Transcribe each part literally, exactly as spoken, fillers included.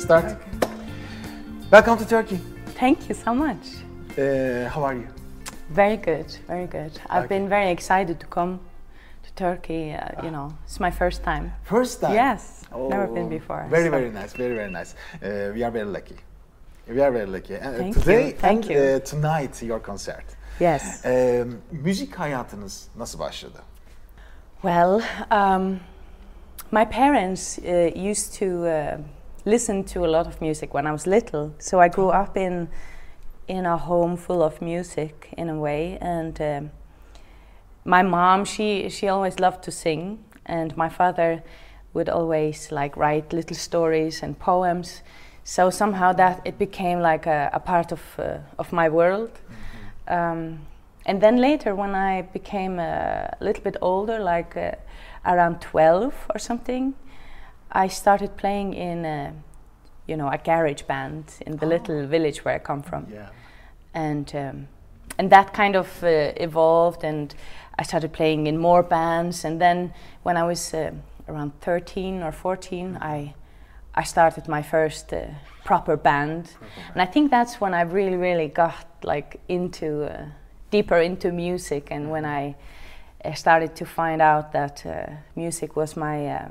start. Okay. Welcome to Turkey. Thank you so much. Uh, how are you? Very good, very good. I've okay. been very excited to come to Turkey. Uh, ah. You know, it's my first time. First time? Yes, oh, never been before. Very, so. very nice, very, very nice. Uh, we are very lucky. We are very lucky. Uh, Thank today you. Thank and you. Uh, tonight your concert. Yes. Uh, müzik hayatınız nasıl başladı? Well, um, my parents uh, used to uh, listen to a lot of music when I was little. So I grew up in in a home full of music in a way, and um, my mom, she she always loved to sing, and my father would always like write little stories and poems. So somehow that it became like a, a part of uh, of my world. Mm-hmm. um, and then later, when I became a little bit older, like uh, around twelve or something, I started playing in a, you know, a garage band in the oh. little village where I come from. Yeah. And um, and that kind of uh, evolved, and I started playing in more bands. And then when I was uh, around thirteen or fourteen, I I started my first uh, proper band. Proper band. And I think that's when I really, really got like into uh, deeper into music, and when I uh, started to find out that uh, music was my uh,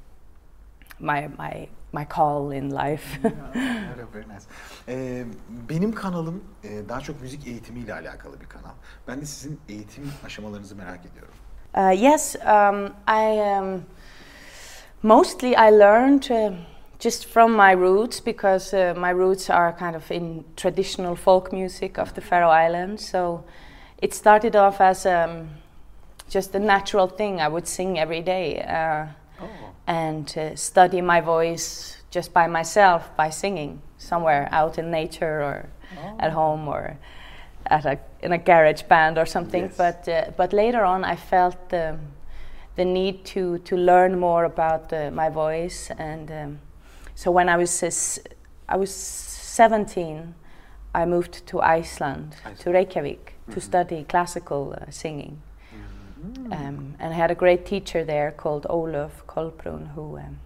my my my call in life. Yeah, very nice. Ee, benim kanalım e, daha çok müzik eğitimiyle alakalı bir kanal. Ben de sizin eğitim aşamalarınızı merak ediyorum. Uh, yes, um, I um, mostly I learned uh, just from my roots, because uh, my roots are kind of in traditional folk music of the Faroe Islands. So it started off as um, just a natural thing. I would sing every day. Uh, oh. and uh, study my voice just by myself, by singing somewhere out in nature, or oh. at home, or at a in a garage band or something. Yes. But uh, but later on, I felt the the need to to learn more about uh, my voice, and um, so when I was uh, I was seventeen, I moved to Iceland, Iceland. to Reykjavik, mm-hmm. to study classical uh, singing. Mm. Um, and I had a great teacher there called Ólöf Kolbrún, who um,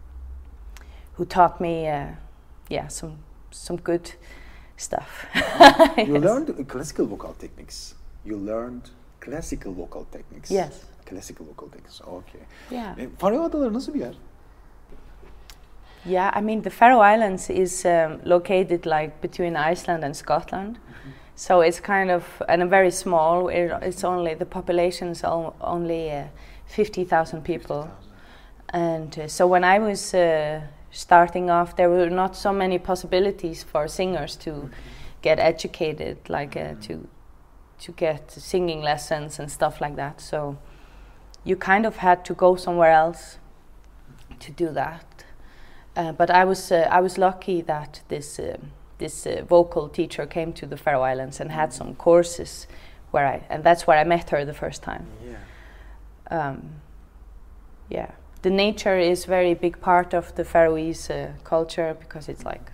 who taught me, uh, yeah, some some good stuff. You yes. learned classical vocal techniques. You learned classical vocal techniques. Yes. Classical vocal techniques. Okay. Yeah. E, Faroe Adaları nasıl bir yer? Yeah, I mean the Faroe Islands is um, located like between Iceland and Scotland. Mm-hmm. So it's kind of, and a very small, it, it's only, the population is al- only uh, fifty thousand people. fifty thousand. And uh, so when I was uh, starting off, there were not so many possibilities for singers to mm-hmm. get educated, like uh, mm-hmm. to to get singing lessons and stuff like that. So you kind of had to go somewhere else to do that. Uh, but I was uh, I was lucky that this uh, this uh, vocal teacher came to the Faroe Islands and had some courses where I, and that's where I met her the first time. Yeah. Um, yeah. The nature is very big part of the Faroese uh, culture, because it's like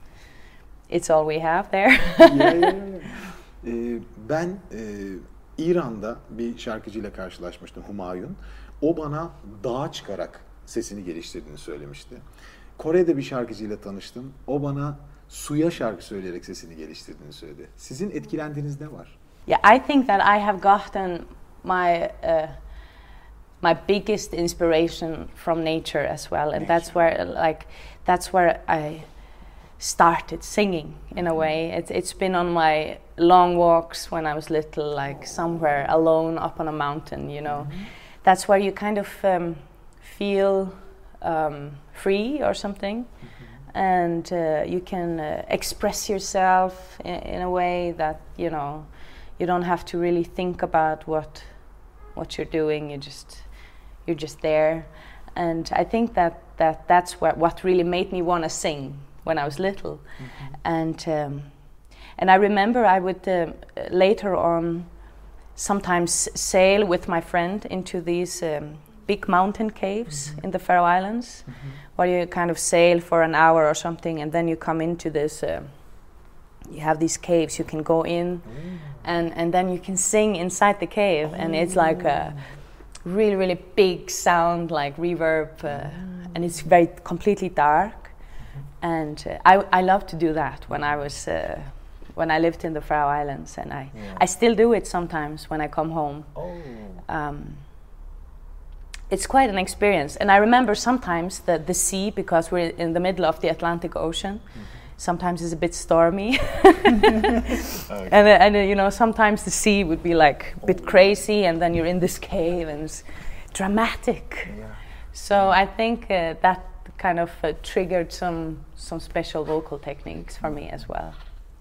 it's all we have there. yeah, yeah, yeah. Ee, ben e, İran'da bir şarkıcıyla karşılaşmıştım, Humayun. O bana dağa çıkarak sesini geliştirdiğini söylemişti. Kore'de bir şarkıcıyla tanıştım. O bana suya şarkı söyleyerek sesini geliştirdiğini söyledi. Sizin etkilendiğiniz ne var? Yeah, I think that I have gotten my uh, my biggest inspiration from nature as well, and nature. That's where like that's where I started singing in a way. It's it's been on my long walks when I was little, like somewhere alone up on a mountain, you know. Mm-hmm. That's where you kind of um, feel um, free or something. Mm-hmm. And uh, you can uh, express yourself in, in a way that, you know, you don't have to really think about what what you're doing. You just you're just there, and I think that, that that's what what really made me want to sing when I was little. Mm-hmm. And um, and I remember I would uh, later on sometimes sail with my friend into these um, big mountain caves mm-hmm. in the Faroe Islands, mm-hmm. where you kind of sail for an hour or something, and then you come into this, uh, you have these caves, you can go in, mm. and, and then you can sing inside the cave, oh. and it's like a really, really big sound, like reverb, uh, mm. and it's very completely dark. and uh, I I love to do that when I was uh, when I lived in the Faroe Islands, and I Yeah. I still do it sometimes when I come home. Oh. Um, it's quite an experience, and I remember sometimes that the sea, because we're in the middle of the Atlantic Ocean, mm-hmm. sometimes it's a bit stormy. Okay. And, uh, and uh, you know, sometimes the sea would be like a bit crazy, and then you're in this cave, and it's dramatic. Yeah. So I think uh, that kind of uh, triggered some some special vocal techniques for me as well.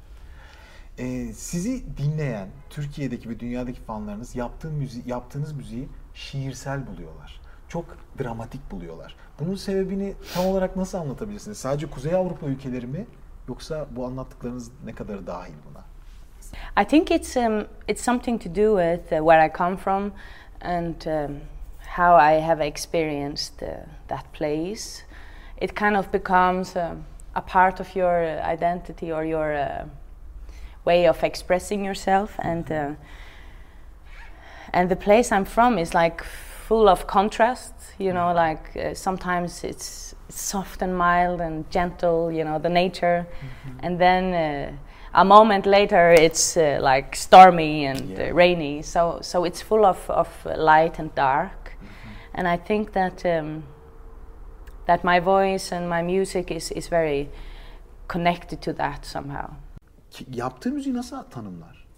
Ee, sizi dinleyen Türkiye'deki ve dünyadaki fanlarınız yaptığın müzi yaptığınız müziği şiirsel buluyorlar. Çok dramatik buluyorlar. Bunun sebebini tam olarak nasıl anlatabilirsiniz? Sadece Kuzey Avrupa ülkeleri mi, yoksa bu anlattıklarınız ne kadar dahil buna? I think it's um, it's something to do with uh, where I come from and um, how I have experienced uh, that place. It kind of becomes um, a part of your uh, identity or your uh, way of expressing yourself, and uh, and the place I'm from is like full of contrast. You know, like uh, sometimes it's soft and mild and gentle. You know, the nature, mm-hmm. and then. Uh, A moment later, it's uh, like stormy and yeah. uh, rainy. So, so it's full of, of light and dark. Mm-hmm. And I think that um, that my voice and my music is is very connected to that somehow. Yaptığı müziği nasıl tanımlar?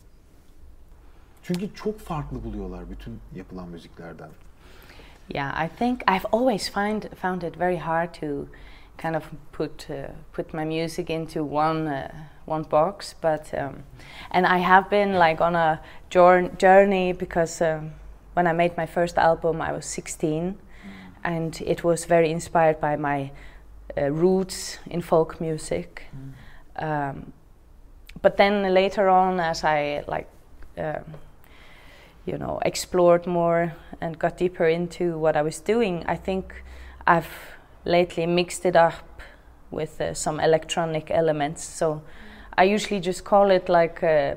Çünkü çok farklı buluyorlar bütün yapılan müziklerden. Yeah, I think I've always find found it very hard to kind of put uh, put my music into one uh, one box, but um, and I have been like on a journey because um, when I made my first album I was sixteen, mm. and it was very inspired by my uh, roots in folk music. Mm. Um, but then later on, as I like um, you know explored more and got deeper into what I was doing, I think I've lately mixed it up with uh, some electronic elements. So I usually just call it like uh,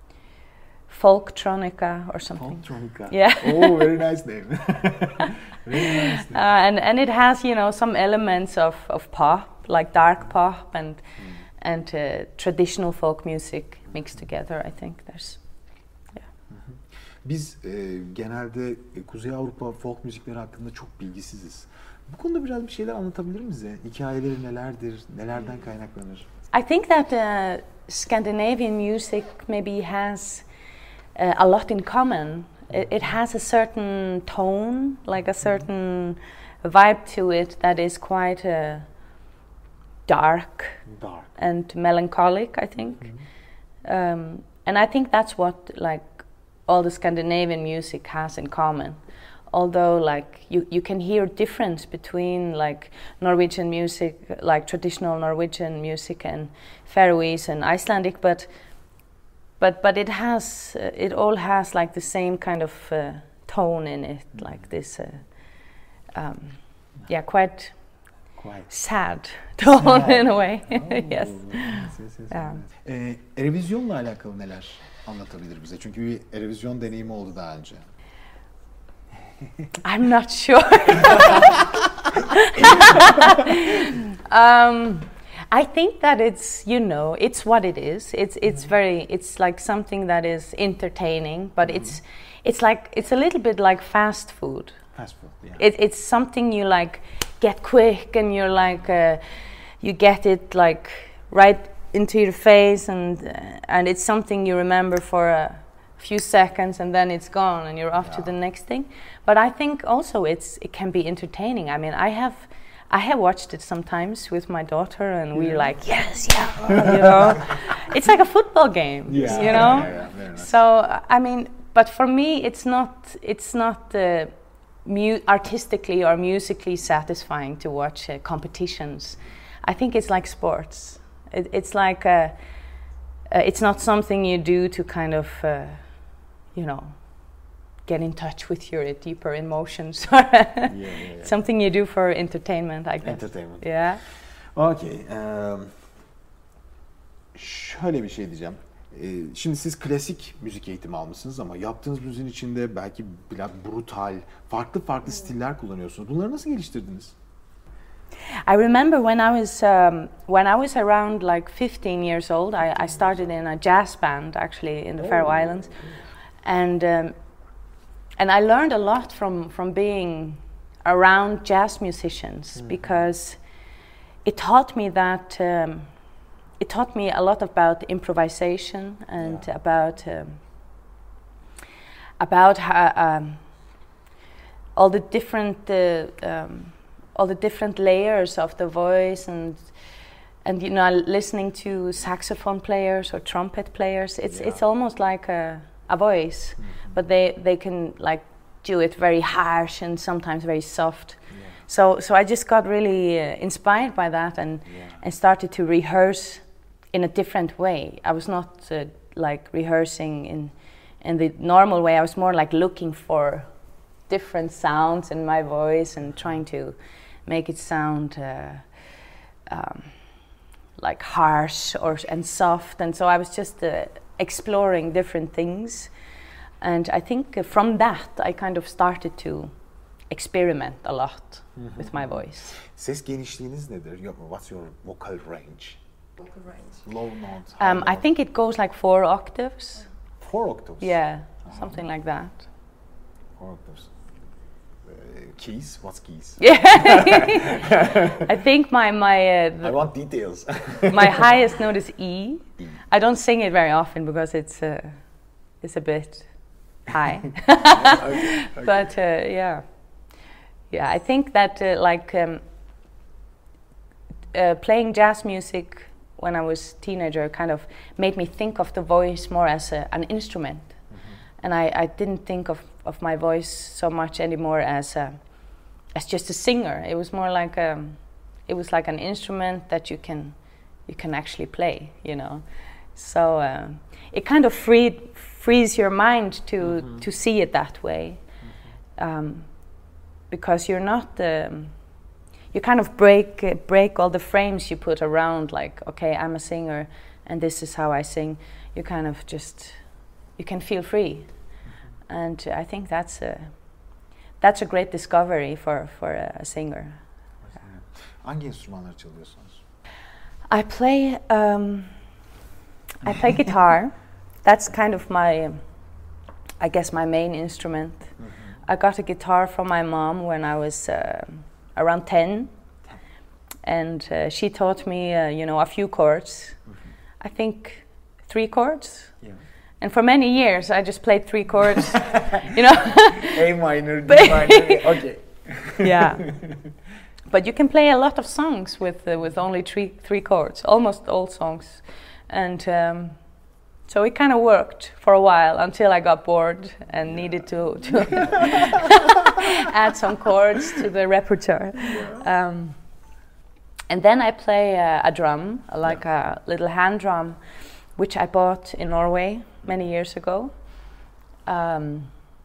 folktronica or something. Folktronica. Yeah. Oh, very nice name. Very nice name. Uh, and and it has, you know, some elements of, of pop, like dark pop and mm. and uh, traditional folk music mixed together. I think there's. Yeah. Biz e, genelde e, Kuzey Avrupa folk müzikleri hakkında çok bilgisiziz. Bu konuda biraz bir şeyler anlatabilir miyiz? Hikayeleri nelerdir, nelerden kaynaklanır? I think that uh, Scandinavian music maybe has uh, a lot in common. It, it has a certain tone, like a certain vibe to it that is quite uh, dark, dark and melancholic, I think. Mm-hmm. Um, and I think that's what like all the Scandinavian music has in common. Although, like you, you can hear difference between like Norwegian music, like traditional Norwegian music, and Faroese and Icelandic, but but but it has uh, it all has like the same kind of uh, tone in it, mm-hmm. like this, uh, um, yeah, quite quite sad tone sad. in a way. Oh, yes. yes, yes, yes, Yeah. Ee, Eurovision'la alakalı neler anlatabilir bize? Çünkü bir Eurovision deneyimi oldu daha önce. I'm not sure. um, I think that it's, you know, it's what it is. It's it's mm-hmm. very, it's like something that is entertaining, but mm-hmm. it's it's like it's a little bit like fast food. Fast food, yeah. It, it's something you like get quick, and you're like uh, you get it like right into your face, and uh, and it's something you remember for a few seconds, and then it's gone and you're off yeah. to the next thing. But I think also it's it can be entertaining. I mean, I have I have watched it sometimes with my daughter, and yeah. we're like, yes, yeah, you know, it's like a football game, yeah. you know. Yeah, yeah, yeah. Nice. So I mean, but for me, it's not it's not uh, mu- artistically or musically satisfying to watch uh, competitions. I think it's like sports. It, it's like a, uh, it's not something you do to kind of. Uh, you know, get in touch with your deeper emotions. yeah, yeah, yeah. Something you do for entertainment, I guess. Entertainment. Yeah. Okay. Um, şöyle bir şey diyeceğim. Ee, şimdi siz klasik müzik eğitimi almışsınız ama yaptığınız müziğin içinde belki biraz brutal, farklı farklı stiller kullanıyorsunuz. Bunları nasıl geliştirdiniz? I remember when I was um, when I was around like fifteen years old. I, I started in a jazz band actually in the oh. Faroe Islands, and um, and I learned a lot from from being around jazz musicians mm. because it taught me that um, it taught me a lot about improvisation and yeah. about um, about how, um, all the different. Uh, um, all the different layers of the voice, and and you know, listening to saxophone players or trumpet players, it's yeah. it's almost like a, a voice, mm-hmm. but they they can like do it very harsh and sometimes very soft. Yeah. So so I just got really uh, inspired by that and yeah. and started to rehearse in a different way. I was not uh, like rehearsing in in the normal way. I was more like looking for different sounds in my voice and trying to make it sound uh, um, like harsh or and soft, and so I was just uh, exploring different things, and I think uh, from that I kind of started to experiment a lot mm-hmm. with my voice. Ses genişliğiniz nedir? What's your vocal range? Vocal range. Low notes. Um, I think it goes like four octaves. Four octaves. Yeah, uh-huh. something like that. Four octaves. Keys? What's keys? Yeah, I think my my. Uh, I want details. My highest note is E. E. I don't sing it very often because it's uh, it's a bit high. okay, okay. But uh, yeah, yeah. I think that uh, like um, uh, playing jazz music when I was a teenager kind of made me think of the voice more as a, an instrument, mm-hmm. and I, I didn't think of. of my voice so much anymore as a, as just a singer. It was more like a, it was like an instrument that you can you can actually play, you know. So uh, it kind of freed frees your mind to mm-hmm. to see it that way, mm-hmm. um, because you're not um, you kind of break uh, break all the frames you put around. Like, okay, I'm a singer, and this is how I sing. You kind of just you can feel free. And I think that's a that's a great discovery for for a, a singer. Hangi enstrümanları çalıyorsunuz? I play um, I play guitar. That's kind of my, I guess, my main instrument. Mm-hmm. I got a guitar from my mom when I was uh, around ten, and uh, she taught me, uh, you know, a few chords. Mm-hmm. I think three chords. Yeah. And for many years, I just played three chords, you know. A minor, D minor, okay. Yeah, but you can play a lot of songs with uh, with only three three chords, almost all songs, and um, so it kind of worked for a while until I got bored and yeah. needed to to add some chords to the repertoire. Yeah. Um, and then I play uh, a drum, like yeah. a little hand drum, which I bought in Norway many years ago, um,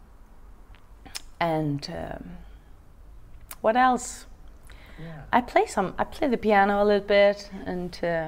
and um, what else? Yeah. I play some. I play the piano a little bit, and uh,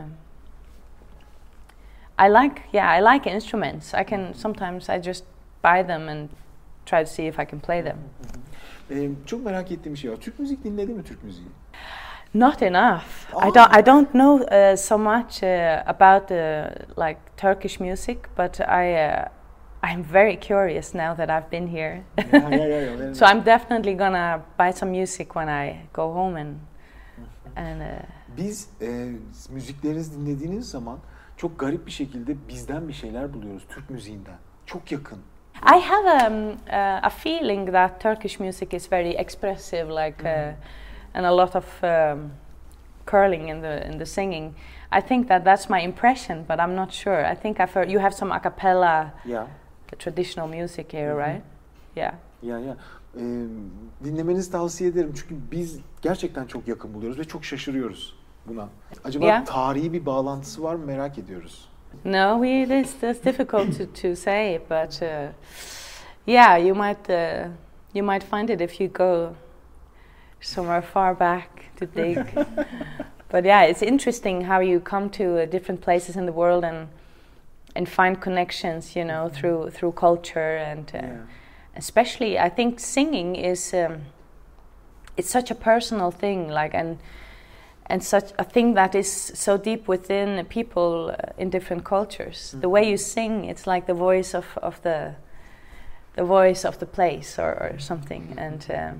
I like. Yeah, I like instruments. I can sometimes I just buy them and try to see if I can play them. Ee, çok merak ettiğim bir şey var. Türk müzik dinledi mi Türk müziği? Not enough. Oh. I don't. I don't know uh, so much uh, about the like Turkish music, but I. Uh, I'm very curious now that I've been here. Yeah, yeah, yeah, yeah. So I'm definitely gonna buy some music when I go home and. and uh, Biz e, müziklerinizi dinlediğiniz zaman çok garip bir şekilde bizden bir şeyler buluyoruz Türk müziğinden. Çok yakın. I have um, uh, a feeling that Turkish music is very expressive, like. Mm-hmm. Uh, and a lot of um, curling in the in the singing. I think that that's my impression, but I'm not sure. I think I've heard you have some a cappella, yeah, the traditional music here, mm-hmm. right? Yeah. Yeah, yeah. Ee, dinlemenizi tavsiye ederim çünkü biz gerçekten çok yakın buluyoruz ve çok şaşırıyoruz buna. Acaba yeah. tarihi bir bağlantısı var mı merak ediyoruz. No, we, it is it's difficult to, to say, but uh, yeah, you might uh, you might find it if you go somewhere far back to dig. But yeah, it's interesting how you come to uh, different places in the world and and find connections, you know, mm-hmm. through through culture and uh, yeah. especially I think singing is um, it's such a personal thing, like and and such a thing that is so deep within people uh, in different cultures. Mm-hmm. The way you sing, it's like the voice of, of the the voice of the place or, or something. Mm-hmm. And um,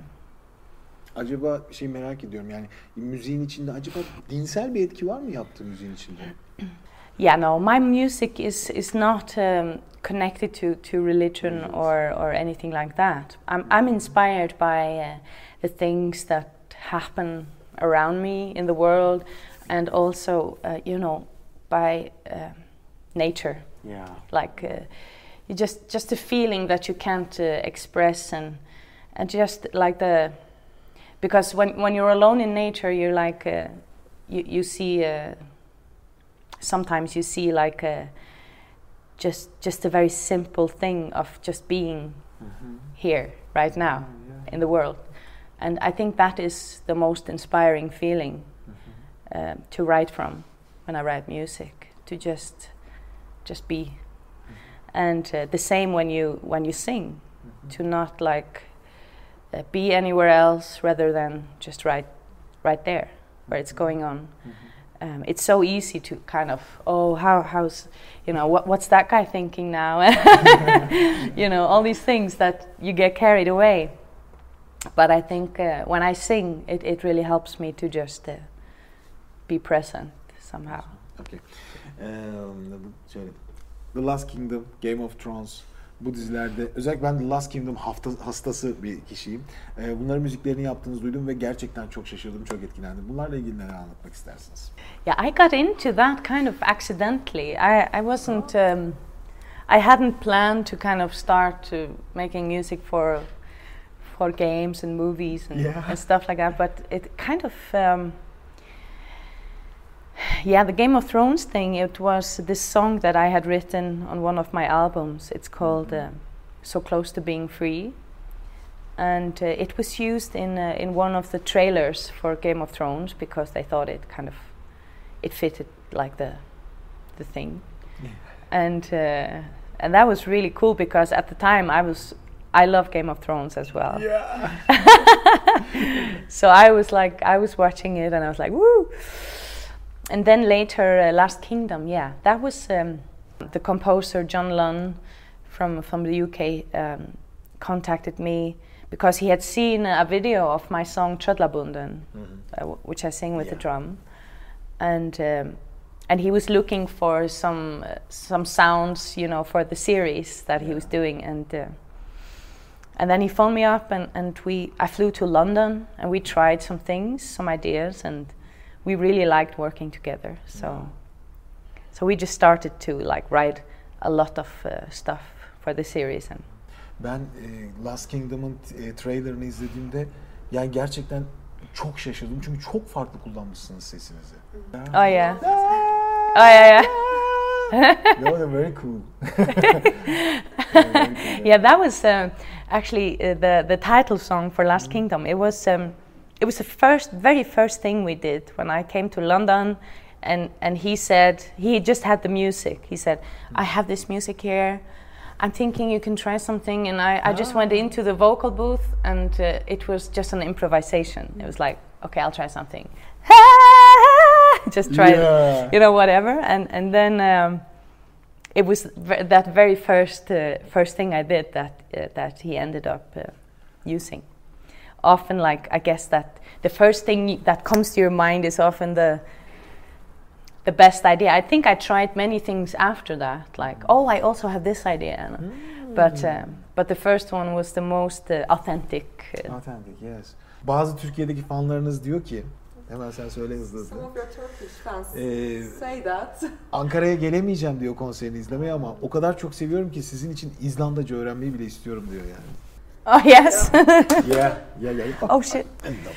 acaba şey merak ediyorum, yani müziğin içinde acaba dinsel bir etki var mı yaptığı müziğin içinde? Yeah, no, my music is is not um, connected to, to religion or, or anything like that. I'm I'm inspired by uh, the things that happen around me in the world, and also uh, you know, by uh, nature. Yeah. Like uh, you just just a feeling that you can't uh, express, and and just like the because when when you're alone in nature, you're like uh, you you see. Uh, Sometimes you see like a, just just a very simple thing of just being mm-hmm. here right now oh, yeah. in the world, and I think that is the most inspiring feeling mm-hmm. uh, to write from when I write music. To just just be, mm-hmm. and uh, the same when you when you sing, mm-hmm. to not like uh, be anywhere else rather than just right right there where it's going on. Mm-hmm. Um, it's so easy to kind of, oh, how, how's, you know, what, what's that guy thinking now? You know, all these things that you get carried away. But I think uh, when I sing, it, it really helps me to just uh, be present somehow. Okay. Um, The Last Kingdom, Game of Thrones, bu dizilerde, özellikle ben The Last Kingdom hafta, hastası bir kişiyim. Ee, bunların müziklerini yaptığınızı duydum ve gerçekten çok şaşırdım, çok etkilendim. Bunlarla ilgili neler anlatmak istersiniz? Yeah, I got into that kind of accidentally. I, I wasn't, um, I hadn't planned to kind of start to making music for for games and movies and, yeah. and stuff like that, but it kind of, um, yeah, the Game of Thrones thing, it was this song that I had written on one of my albums. It's called uh, So Close to Being Free. And uh, it was used in uh, in one of the trailers for Game of Thrones because they thought it kind of, it fitted like the the thing. Yeah. And uh, and that was really cool because at the time I was, I love Game of Thrones as well. Yeah. So I was like, I was watching it and I was like, woo! And then later, uh, Last Kingdom, yeah, that was um, the composer John Lunn from from the U K um, contacted me because he had seen a video of my song Tröllabunden, mm-hmm. uh, w- which I sing with yeah. the drum, and um, and he was looking for some uh, some sounds, you know, for the series that yeah. he was doing, and uh, and then he phoned me up, and and we I flew to London, and we tried some things, some ideas, and we really liked working together. So yeah. so we just started to like write a lot of uh, stuff for the series. And ben e, Last Kingdom'un e, trailerını izlediğimde yani gerçekten çok şaşırdım çünkü çok farklı kullanmışsınız sesinizi. Oh yeah. Oh yeah, yeah. No, they're very cool. Yeah, that was um, actually uh, the the title song for Last mm. Kingdom. It was um, it was the first, very first thing we did when I came to London, and and he said he just had the music. He said, "I have this music here. I'm thinking you can try something." And I, I oh. just went into the vocal booth, and uh, it was just an improvisation. It was like, okay, I'll try something. Just try, yeah. you know, whatever. And and then um, it was v- that very first uh, first thing I did that uh, that he ended up uh, using. Often, like, I guess that the first thing that comes to your mind is often the the best idea. I think I tried many things after that, like, oh, I also have this idea. Mm. But um, but the first one was the most uh, authentic. Uh, authentic, yes. Bazı Türkiye'deki fanlarınız diyor ki, hemen sen söyle hızlı hızlı. Some of your Turkish fans ee, say that. Ankara'ya gelemeyeceğim diyor konserini izlemeye ama o kadar çok seviyorum ki sizin için İzlandaca öğrenmeyi bile istiyorum diyor yani. Oh yes. Yeah, yeah, yeah. Oh shit.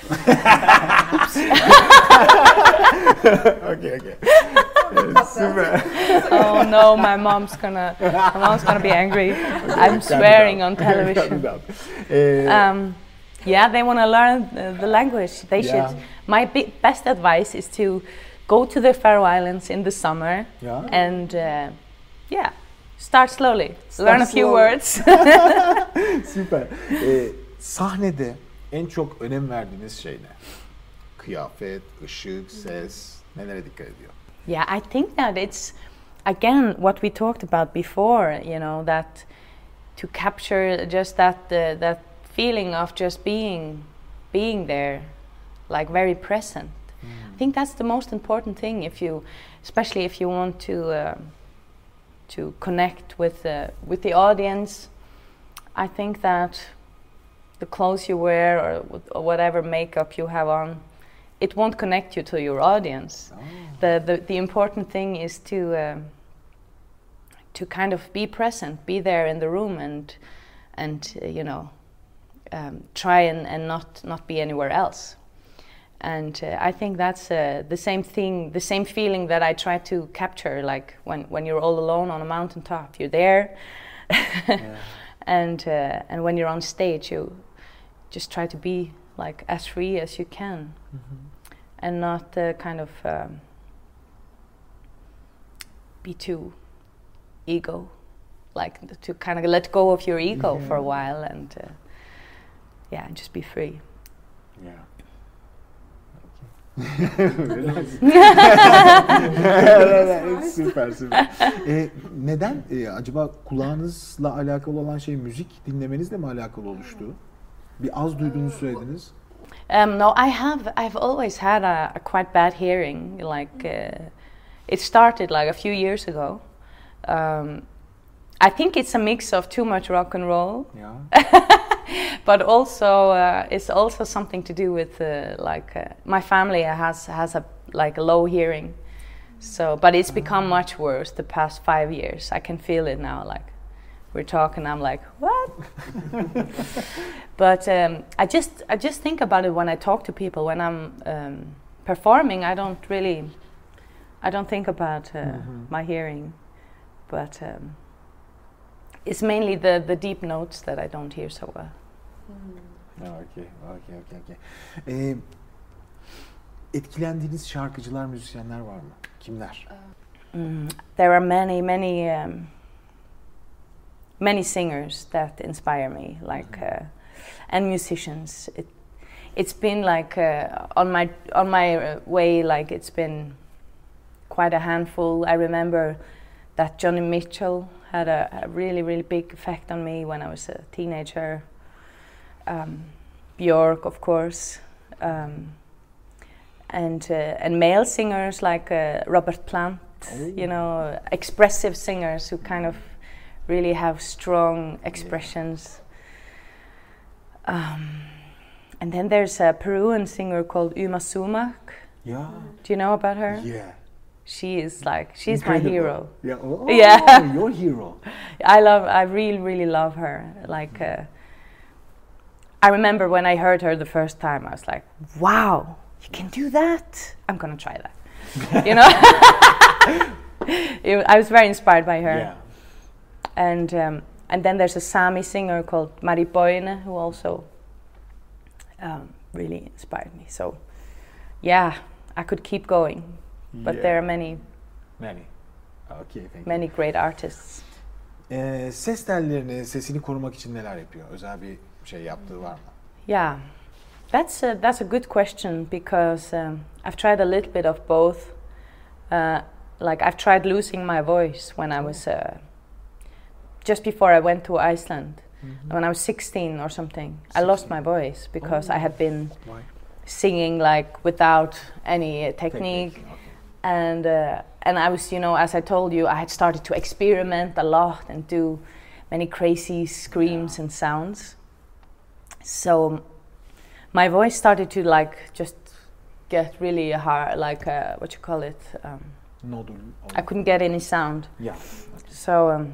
Okay, okay. Super. Oh no, my mom's gonna, my mom's gonna be angry. Okay, I'm swearing on television. um, yeah, they want to learn uh, the language. They yeah. should. My b- best advice is to go to the Faroe Islands in the summer yeah. and uh, yeah. Start slowly. Start Learn a few slowly. words. Süper. Ee, sahnede en çok önem verdiğiniz şey ne? Kıyafet, ışık, ses, nelere dikkat ediyor? Yeah, I think that it's again what we talked about before. You know, that to capture just that uh, that feeling of just being being there, like very present. Mm. I think that's the most important thing. If you, especially if you want to uh, to connect with uh, with the audience, I think that the clothes you wear or, or whatever makeup you have on, it won't connect you to your audience. Oh. The, the the important thing is to uh, to kind of be present, be there in the room, and and uh, you know, um, try and, and not not be anywhere else. And uh, I think that's uh, the same thing, the same feeling that I try to capture. Like when when you're all alone on a mountaintop, you're there, yeah. and uh, and when you're on stage, you just try to be like as free as you can. Mm-hmm. And not uh, kind of um, be too ego, like to kind of let go of your ego yeah. for a while, and uh, yeah, and just be free. Yeah. Süper süper. Ee, neden e, acaba kulağınızla alakalı olan şey müzik dinlemenizle mi alakalı oluştu? Bir az duyduğunuzu söylediniz. Um, no, I have. I've always had a, a quite bad hearing. Like uh, it started like a few years ago. Um, I think it's a mix of too much rock and roll, yeah. but also uh, it's also something to do with uh, like uh, my family has has a like a low hearing, so but it's become much worse the past five years. I can feel it now. Like we're talking, I'm like, what? But um, I just I just think about it when I talk to people. When I'm um, performing, I don't really, I don't think about uh, mm-hmm. my hearing, but um, it's mainly the the deep notes that I don't hear so well. Mm. Okay, okay, okay, okay. Ee, etkilendiğiniz şarkıcılar, müzisyenler var mı? Kimler? Mm, there are many, many. Um, Many singers that inspire me, like uh, and musicians. It, it's been like uh, on my on my uh, way, like it's been quite a handful. I remember that Johnny Mitchell had a, a really really big effect on me when I was a teenager. Um, Björk, of course, um, and uh, and male singers like uh, Robert Plant. Oh. You know, expressive singers who kind of really have strong expressions. Um, and then there's a Peruvian singer called Uma Sumac. Yeah. Do you know about her? Yeah. She is like, she's Incredible. my hero. Yeah. Oh, yeah. Your hero. I love, I really, really love her. Like, uh, I remember when I heard her the first time, I was like, wow, you can do that? I'm gonna try that. You know? it, I was very inspired by her. Yeah. And um, and then there's a Sami singer called Mari Boine who also um, really inspired me. So yeah, I could keep going, but yeah. There are many, many, okay, thank many you. great artists. Ee, ses tellerini, sesini korumak için neler yapıyor? Özel bir şey yaptığı var mı? Yeah, that's a, that's a good question because um, I've tried a little bit of both. Uh, like I've tried losing my voice when I was. Uh, Just before I went to Iceland, mm-hmm. when I was sixteen or something, sixteen. I lost my voice because oh. I had been Why? singing like without any uh, technique, technique. Okay. and uh, and I was, you know, as I told you, I had started to experiment a lot and do many crazy screams yeah. and sounds. So my voice started to like just get really hard, like uh, what you call it. Um, Nodul. I couldn't get any sound. Yeah. So. Um,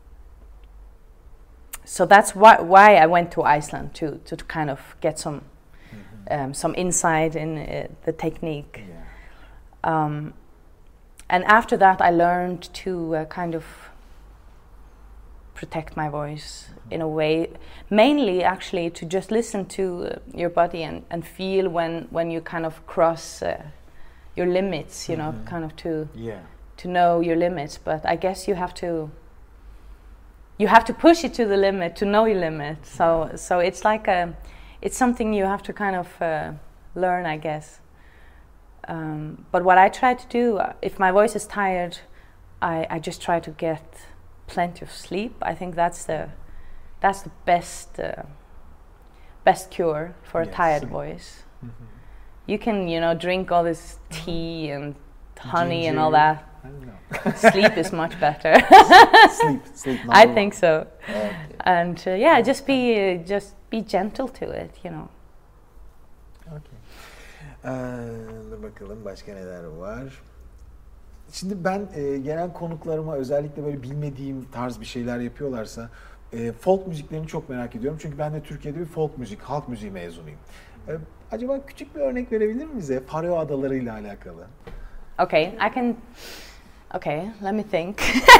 So that's why why I went to Iceland to to kind of get some mm-hmm. um, some insight in uh, the technique. Yeah. Um, and after that, I learned to uh, kind of protect my voice mm-hmm. in a way, mainly actually to just listen to uh, your body and, and feel when when you kind of cross uh, your limits. You mm-hmm. know, kind of to yeah. to know your limits. But I guess you have to. You have to push it to the limit to know your limit. So, so it's like a, it's something you have to kind of uh, learn, I guess. Um, but what I try to do, uh, if my voice is tired, I, I just try to get plenty of sleep. I think that's the that's the best uh, best cure for Yes. a tired voice. Mm-hmm. You can, you know, drink all this tea and honey and Ginger. all that. I don't know. Sleep is much better. Sleep, sleep. I number think one. so. Okay. And uh, yeah, just be uh, just be gentle to it, you know. Okay. Ee, dur bakalım başka neler var. Şimdi ben e, gelen konuklarıma özellikle böyle bilmediğim tarz bir şeyler yapıyorlarsa e, folk müziklerini çok merak ediyorum. Çünkü ben de Türkiye'de bir folk müzik, halk müziği mezunuyum. E, acaba küçük bir örnek verebilir mi bize Faroe Adaları ile alakalı? Okay, I can. Okay, let me think.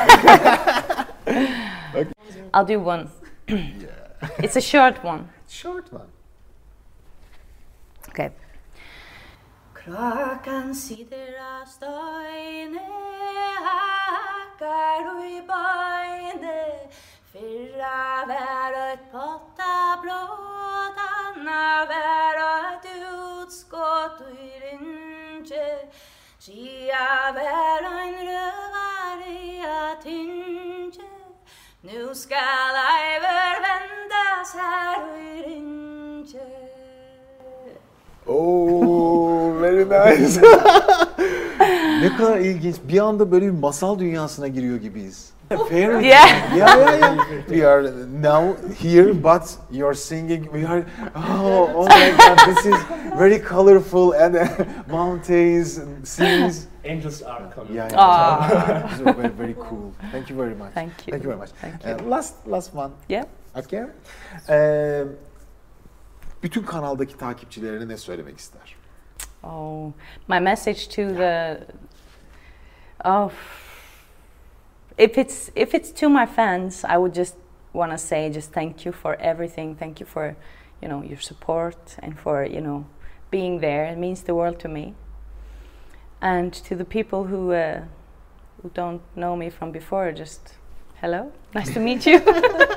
I'll do one. It's a short one. Short one. Okay. Klokkan sitter av støyne, hakkar og i bøyne. Fyrra vær et potta blått, anna vær et utskott og i rynke. Skia vær en røvar i at hinke. Nu skal eiver vendas her og i rynke. Oh, very nice. Ne kadar ilginç. Bir anda böyle bir masal dünyasına giriyor gibiyiz. Fairy Yeah. yeah, yeah, yeah. We are now here, but you're singing. We are. Oh, oh my God! This is very colorful and uh, mountains, and seas. Angels are coming. Yeah, Ah. yeah. This is very, very cool. Thank you very much. Thank you. Thank you very much. Thank you. Uh, last, last one. Yeah. Okay. Ee, bütün kanaldaki takipçilerine ne söylemek ister? Oh, my message to the. Oh. If it's if it's to my fans, I would just want to say just thank you for everything. Thank you for, you know, your support and for, you know, being there. It means the world to me. And to the people who uh, who don't know me from before, just hello, nice to meet you.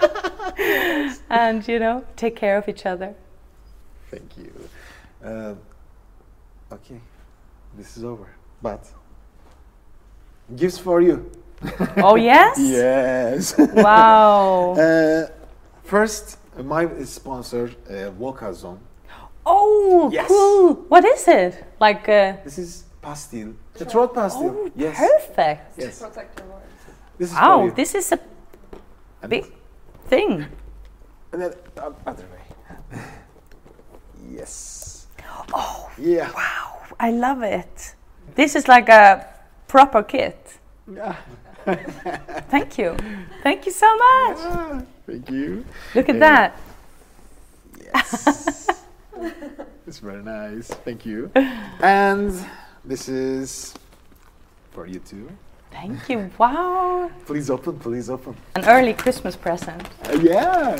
And you know, take care of each other. Thank you. Uh, okay, this is over. But gifts for you. Oh yes. Yes. Wow. Uh, first, my sponsor, uh, Volkazon. Oh, Yes. cool. What is it? Like. Uh, This is pastil. The throat pastil. oh, Yes. perfect. Yes. Protect your voice. This is for Wow, you. this is a And big thing. And then uh, other way. Yes. Oh. Yeah. Wow, I love it. This is like a proper kit. Yeah. Thank you. Thank you so much. Ah, thank you. Look at Uh, that. Yes. It's very nice. Thank you. And this is for you too. Thank you. Wow. Please open, please open. An early Christmas present. Uh, yeah.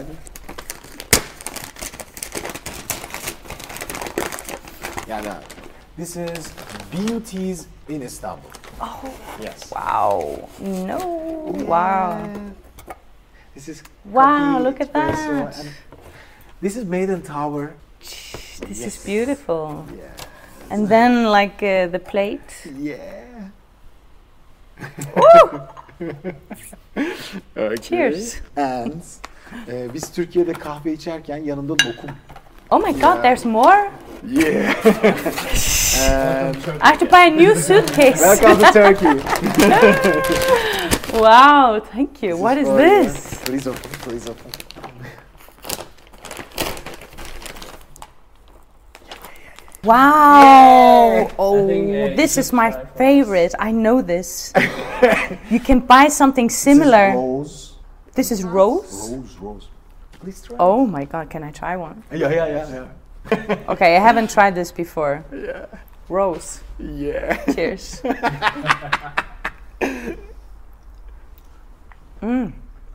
Yeah, no. This is Beauties in Istanbul. Oh, Yes. wow. No. Wow. This is Wow, coffee, look at espresso, that. and this is made in tower. This Yes. is beautiful. Yeah. And then like uh, the plate. Yeah. Woo! Okay. Cheers. And e, biz Türkiye'de kahve içerken yanında lokum. Oh my God, Yeah. there's more? Yeah. And I have to buy a new suitcase. welcome to Turkey. Wow, thank you. What is for you. this? Please open, please open. Wow! Oh, I think, uh, this you is should my try for us. favorite. I know this. You can buy something similar. This This is is rose? rose. Rose, rose. Please try. Oh my God, can I try one? Yeah, yeah, yeah, yeah. Okay, I haven't tried this before. Yeah. Rose. Yeah. Cheers. Mmm.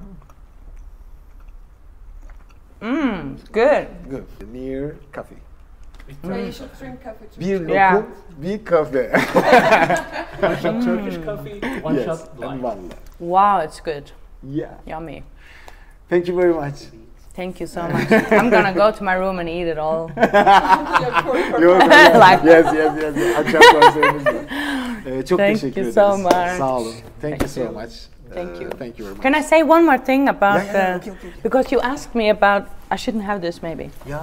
Mmm, good. Good. Near coffee. Yeah, you should drink coffee too. Bir lokum, Yeah. bir kahve. One shot Turkish coffee, one Yes, shot and lime. one. Wow, it's good. Yeah. Yummy. Thank you very much. Thank you so much. I'm gonna go to my room and eat it all. Yok, Like- yes, yes, yes, yes. Akşam konserimizde. Ee, çok Thank teşekkür you ederiz. so much. Sağ olun. Thank, you so you. much. Thank Uh, you. Thank you very much. Can I say one more thing about Yeah, yeah, uh, okay, okay, okay. because you asked me about I shouldn't have this maybe Ya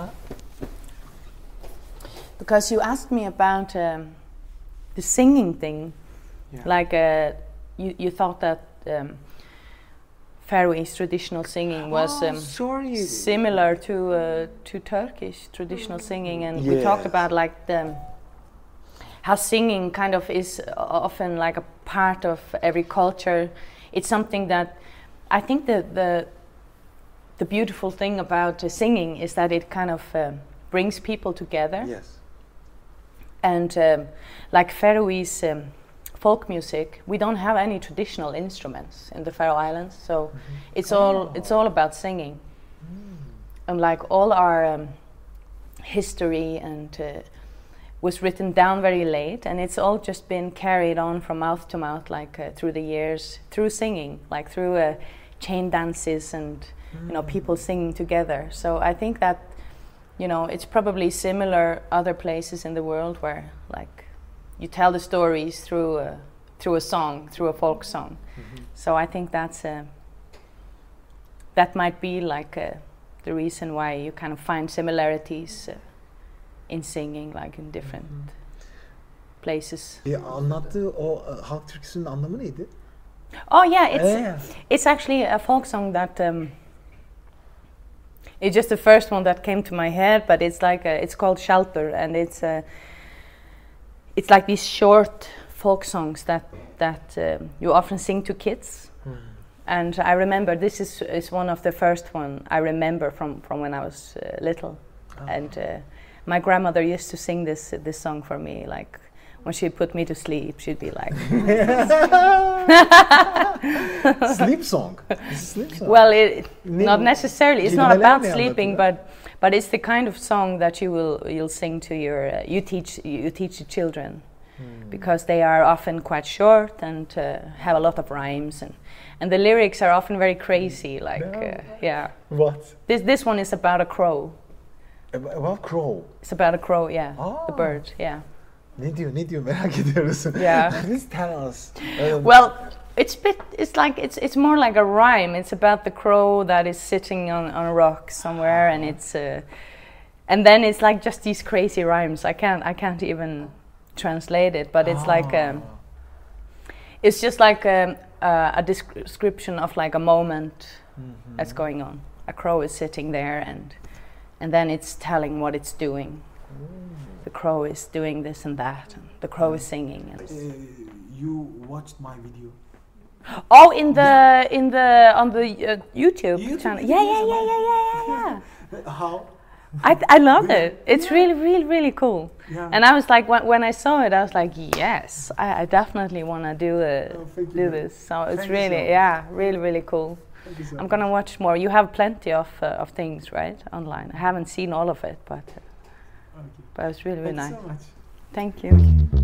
because you asked me about um, the singing thing. Yeah. Like uh, you you thought that um, Faroese traditional singing was Oh, um, sorry. similar to uh, to Turkish traditional singing, and we talked Yes. about like the how singing kind of is often like a part of every culture. It's something that I think the the the beautiful thing about uh, singing is that it kind of uh, brings people together. Yes. And um, like Faroese um, folk music, we don't have any traditional instruments in the Faroe Islands, so it's all it's all about singing. And like all our um, history and uh, was written down very late, and it's all just been carried on from mouth to mouth, like uh, through the years, through singing, like through uh, chain dances and you know people singing together. So I think that you know it's probably similar other places in the world where like you tell the stories through a, through a song, through a folk song. So I think that's uh, that might be like uh, the reason why you kind of find similarities uh, in singing, like in different places. e, anlattığı o e, halk türküsünün anlamı neydi? Oh yeah, it's Yeah. it's actually a folk song that um, it's just the first one that came to my head, but it's like a, it's called Shelter, and it's uh, it's like these short folk songs that that um, you often sing to kids. And I remember this is is one of the first one I remember from from when I was uh, little, and uh, my grandmother used to sing this this song for me, like when she'd put me to sleep, she'd be like, Sleep song. It's a sleep song. well, it, Ne- not necessarily. It's not kelimeler about ne sleeping, anlatıyor? but but it's the kind of song that you will you'll sing to your uh, you teach you teach the children, because they are often quite short and uh, have a lot of rhymes, and and the lyrics are often very crazy. Like uh, yeah, What? this this one is about a crow. Ab- About crow. It's about a crow, yeah, Ah. the bird, yeah. Ne diyor? Ne diyor? Merak ediyoruz. Yeah. Please tell us. Uh, Well, it's bit. It's like it's it's more like a rhyme. It's about the crow that is sitting on, on a rock somewhere, and it's uh, and then it's like just these crazy rhymes. I can't I can't even translate it, but it's like um, it's just like um, uh, a descri- description of like a moment that's going on. A crow is sitting there, and and then it's telling what it's doing. The crow is doing this and that, and the crow is singing. And Uh, you watched my video. oh, in the in the on the uh, YouTube, YouTube channel. videos Yeah, yeah, about- yeah, yeah, yeah, yeah. How? I I love it. It's really, really, really cool. Yeah. And I was like, when, when I saw it, I was like, yes, I, I definitely want to do uh, Oh, thank you. do this. So it's Thank you really, so much. yeah, really, really cool. Thank you so I'm much. gonna watch more. You have plenty of uh, of things, right, online. I haven't seen all of it, but uh, Okay. but it was really, really Thank nice. you so much. Thank you.